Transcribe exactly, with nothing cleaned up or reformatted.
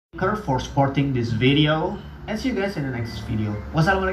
for supporting this video and see you guys in the next video. Wassalamualaikum.